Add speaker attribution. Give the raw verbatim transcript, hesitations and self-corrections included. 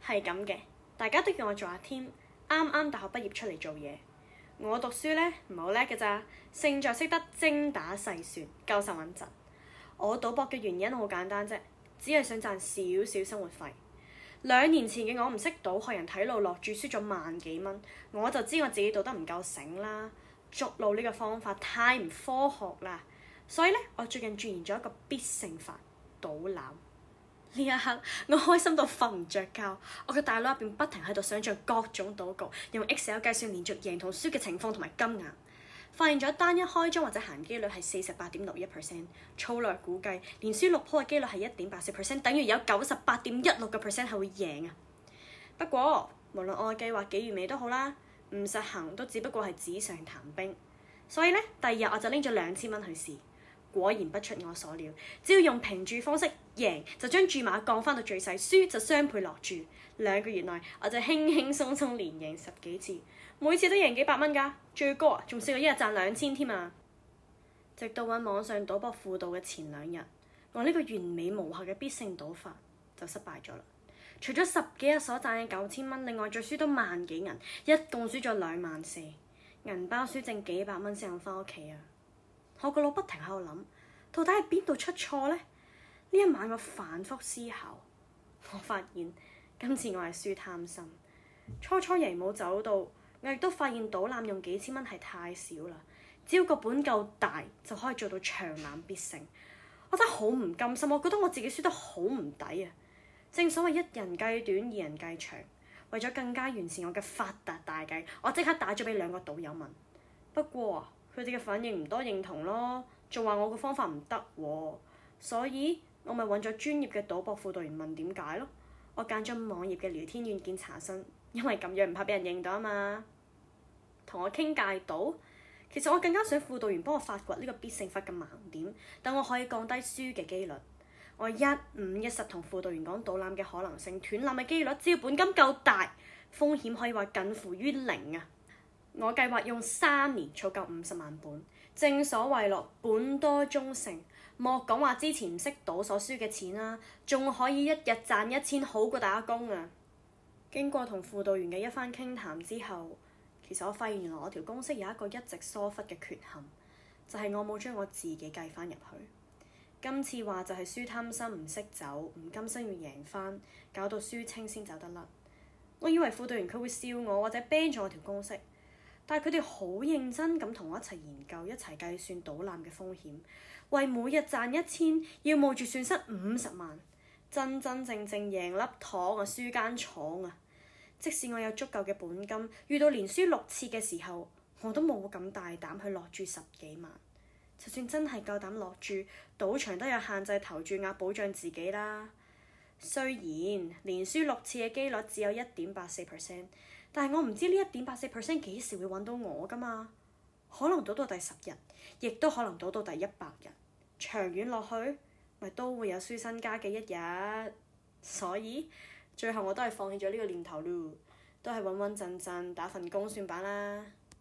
Speaker 1: 係咁嘅，大家都叫我做阿添，啱啱大學畢業出嚟做嘢。我讀書呢，唔係好叻嘅咋，勝在識得精打細算，夠實穩陣。我賭博嘅原因好簡單啫，只係想賺少少生活費。兩年前嘅我唔識賭，學人睇路落注，輸咗萬幾蚊，我就知我自己賭得唔夠醒啦。捉路呢個方法太唔科學啦，所以呢，我最近鑽研咗一個必勝法——賭籃。呢一刻我開心到瞓唔着覺，我嘅大腦入邊不停喺度想像各種賭局，用 Excel 計算連續贏同輸嘅情況同埋金額，發現咗單一開張或者閒機率係四十八點六一 percent， 粗略估計連輸六鋪嘅機率係一點八四 percent， 等於有九十八點一六個 percent 係會贏啊！不過無論我嘅計劃幾完美都好啦，唔實行都只不過係紙上談兵，所以呢，第二日我就拎咗兩千蚊去試。果然不出我所料，只要用平注方式贏，就將注碼降翻到最細，輸就雙倍落注。兩個月內我就輕輕鬆鬆連贏十幾次，每次都贏幾百蚊㗎，最高啊仲試過一日賺兩千添啊！直到揾網上賭博輔導嘅前兩日，我呢個完美無瑕嘅必勝賭法就失敗咗啦。除咗十幾日所賺嘅九千蚊，另外再輸多萬幾銀，一共輸咗兩萬四，銀包輸剩幾百蚊先肯翻屋企啊！我個腦不停喺度諗，到底係邊度出錯呢？呢一晚我反覆思考，我發現今次我係輸貪心。初初贏冇走到，我亦都發現賭籃用幾千蚊係太少啦。只要個本夠大，就可以做到長籃必勝。我真係好唔甘心，我覺得我自己輸得好唔抵啊！正所謂一人計短，二人計長。為咗更加完善我嘅發達大計，我即刻打咗俾兩個賭友問。不過佢哋嘅反應唔多認同咯，仲話我個方法唔得喎，所以我咪揾咗專業嘅賭博輔導員問點解咯。我揀咗網頁嘅聊天軟件查詢，因為咁樣唔怕俾人認到啊嘛。同我傾戒賭，其實我更加想輔導員幫我發掘呢個必勝法嘅盲點，等我可以降低輸嘅機率。我一五一十同輔導員講賭籃嘅可能性、斷籃嘅機率，只要本金夠大，風險可以話近乎於零啊！我計劃用三年儲夠五十萬本，正所謂咯，本多終勝，莫講話之前唔識賭所輸嘅錢啦，仲可以一日賺一千，好過打工啊！經過同輔導員嘅一番傾談之後，其實我發現原來我條公式有一個一直疏忽嘅缺陷，就係我冇將我自己計翻入去。今次話就係輸貪心唔識走，唔甘心要贏翻，搞到輸清先走得甩。我以為輔導員佢會笑我或者 ban 咗我條公式。但係佢哋好認真咁同我一齊研究，一齊計算賭籃嘅風險，為每日賺一千，要冒住損失五十萬，真真正正贏粒糖啊，輸間廠啊！即使我有足夠嘅本金，遇到連輸六次嘅時候，我都冇咁大膽去落注十幾萬。就算真係夠膽落注，賭場都有限制投注額保障自己啦。雖然連輸六次嘅機率只有一點八四 percent。但係我唔知呢一點八四 percent 幾時會揾到我㗎嘛？可能賭到第十日，亦都可能賭到第一百日。長遠落去，咪都會有輸身家嘅一日。所以最後我都係放棄咗呢個念頭咯，都係穩穩陣陣打份工算罷啦。